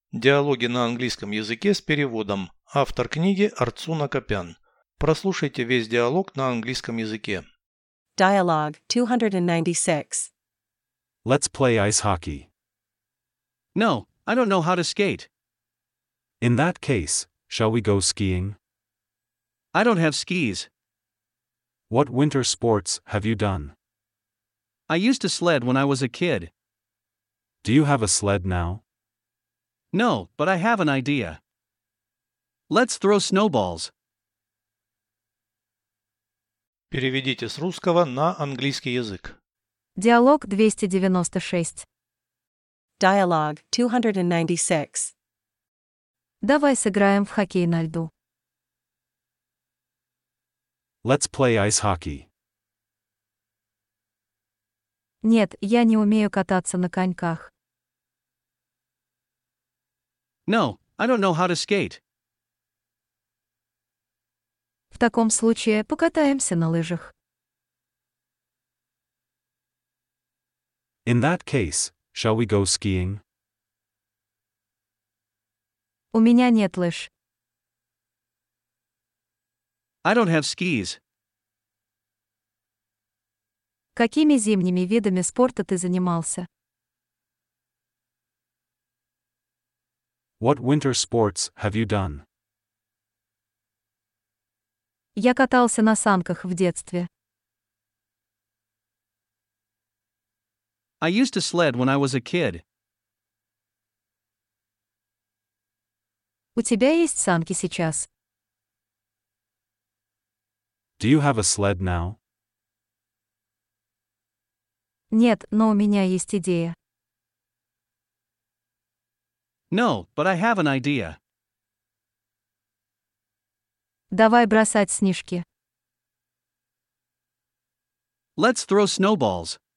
Диалоги на английском языке с переводом. Автор книги Арцуна Копян. Прослушайте весь диалог на английском языке. Dialogue 296. Let's play ice hockey. No, I don't know how to skate. In that case, shall we go skiing? I don't have skis. What winter sports have you done? I used to sled when I was a kid. Do you have a sled now? No, but I have an idea. Let's throw snowballs. Переведите с русского на английский язык. Диалог 296. Dialogue 296. Давай сыграем в хоккей на льду. Let's play ice hockey. Нет, я не умею кататься на коньках. No, I don't know how to skate. В таком случае покатаемся на лыжах. In that case, shall we go skiing? У меня нет лыж. I don't have skis. Какими зимними видами спорта ты занимался? What winter sports have you done? Я катался на санках в детстве. I used to sled when I was a kid. У тебя есть санки сейчас? Do you have a sled now? Нет, но у меня есть идея. No, but I have an idea. Давай бросать снежки. Let's throw snowballs.